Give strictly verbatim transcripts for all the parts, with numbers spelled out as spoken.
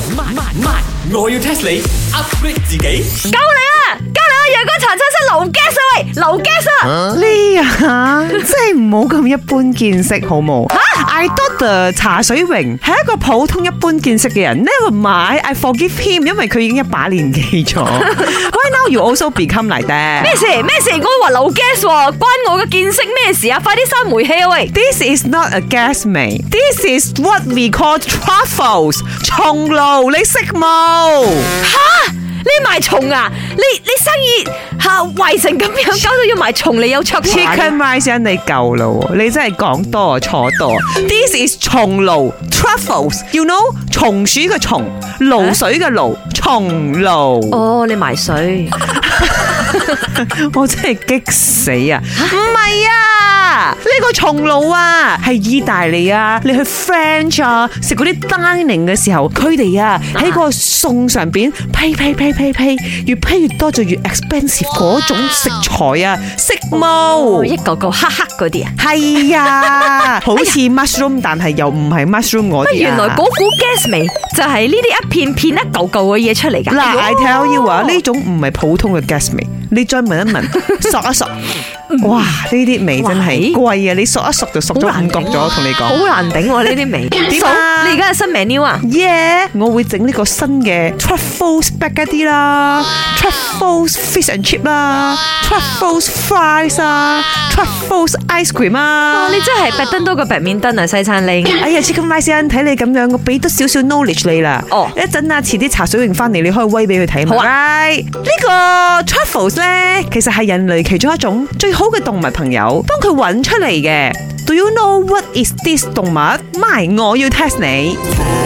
慢慢慢，我要 test 你 upgrade 自己。 救你啊！救你啊！陽光殘差室流 gas 啊喂，流 gas 啊！ 呢啊，真係唔好咁一般見識，好冇？吓 I thought the 茶水榮係一個普通一般見識嘅人 ，never mind I forgive him， 因為佢已經一把年紀咗。Why now you also become like that？ 咩事咩事？我話流 gas 喎，關我嘅見識咩事啊？快啲閂煤氣啊喂 ！This is not a gas mate. This is what we call truffles。松露，你識冇？ 吓！你賣蟲啊？你你生意吓壞成咁樣，搞到要賣蟲你有出 Chicken rice 你夠啦，你真係講多啊錯多。This is 松露 truffles，you know 松鼠嘅松，露水嘅露，松露。 哦，你賣水， 我真係激死啊！唔係啊，呢個松露啊係意大利啊，你去 French 啊食嗰啲 dining 嘅時候，佢哋啊喺個餸上邊批批批批批，越批越多就越 expensive 嗰種食材啊，識冇？ 一個個黑黑嗰啲啊， 係啊，好似 mushroom， 但係又唔係 mushroom 嗰啲啊。 原來嗰股 gas 味就係呢啲一片片一嚿嚿嘅嘢出嚟㗎。 嗱 ，I tell you 啊，呢種唔係普通嘅 gas 味，你再聞一聞，索一索。哇！呢啲味真係貴啊！你索一索就索咗五角咗，同你講好難頂喎呢啲味。 點啊？ 你而家係新 menu 啊 ？Yeah， 我會整呢個新嘅 truffles spaghetti 啦 ，truffles fish and chip 啦 ，truffles fries 啊 ，truffles ice cream 啊。 你真係白登多過白面燈啊，西餐拎。 哎呀 ，Chicken rice 睇你咁樣，我俾多少少 knowledge 你啦。哦，一陣啊，遲啲茶水榮翻嚟，你可以威俾佢睇。好啊。呢個 truffles 咧，其實係人類其中一種最好嘅動物朋友，幫佢揾出嚟嘅。Do you know what is this 動物？咪我要 test 你。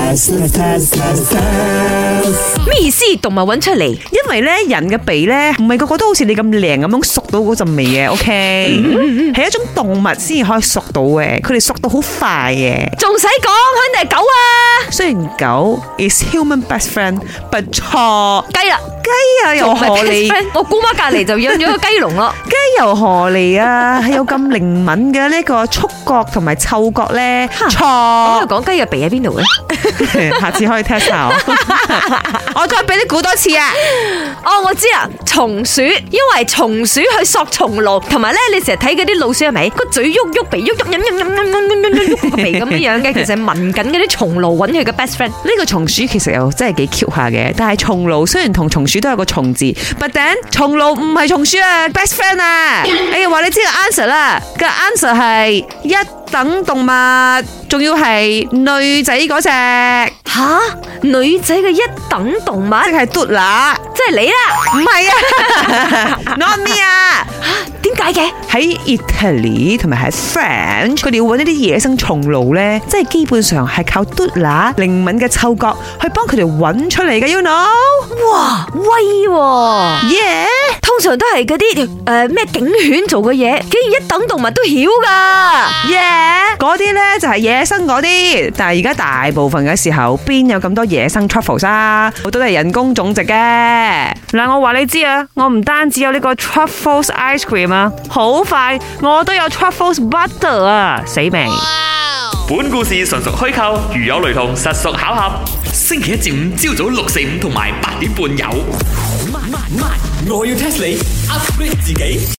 咩意思？動物揾出嚟？ 因為咧人嘅鼻咧唔係個個都好似你咁靚咁樣索到嗰陣味嘅 ，OK？係一種動物先至可以索到嘅，佢哋索到好快嘅。 仲使講，肯定係狗啊！ 雖然狗 is human best friend，but 錯雞啦， 雞啊又何嚟？ 我姑媽隔籬就養咗個雞籠咯。 雞又何嚟啊？係有咁靈敏嘅呢個觸覺同埋嗅覺咧？錯。 我講雞嘅鼻喺邊度咧？ 下次可以 test 下。我再俾你估多次啊！ 哦，我知啦，松鼠，因為松鼠去索松露，同埋咧，你成日睇嗰啲老鼠係咪個嘴喐喐鼻喐喐，飲飲飲飲飲飲飲喐個鼻咁樣樣嘅，其實係聞緊嗰啲松露揾佢嘅 best friend。 呢個松鼠其實又真係幾 Q 下嘅，但係松露雖然同松鼠都有個松字 ，but then 松露唔係松鼠啊 ，best friend 啊！哎呀，話你知個 answer 啦，個 answer 係一等動物，仲要係女仔嗰隻。 吓，女仔嘅一等動物， 即係嘟乸， 即係你啦， 唔係啊 ，not me 啊， 點解嘅？ 喺 Italy 同埋喺 French，佢哋要揾一啲野生松露咧，即係基本上係靠嘟乸靈敏嘅嗅覺去幫佢哋揾出嚟嘅 ，you know？ 哇，威喎 ，yeah， 通常都係嗰啲誒咩警犬做嘅嘢，竟然一等動物都曉噶 ，yeah， 嗰啲咧就係野生嗰啲，但係而家大部分嘅時候邊有咁多野生 truffles 啊？好多都係人工種植嘅。嗱，我話你知啊，我唔單止有呢個 truffles ice cream 啊，好快我都有 truffles butter 啊，死未？ 本故事純屬虛構，如有雷同，實屬巧合。星期一至五朝早六四五同埋八點半有。慢慢慢，我要 test 你 upgrade 自己。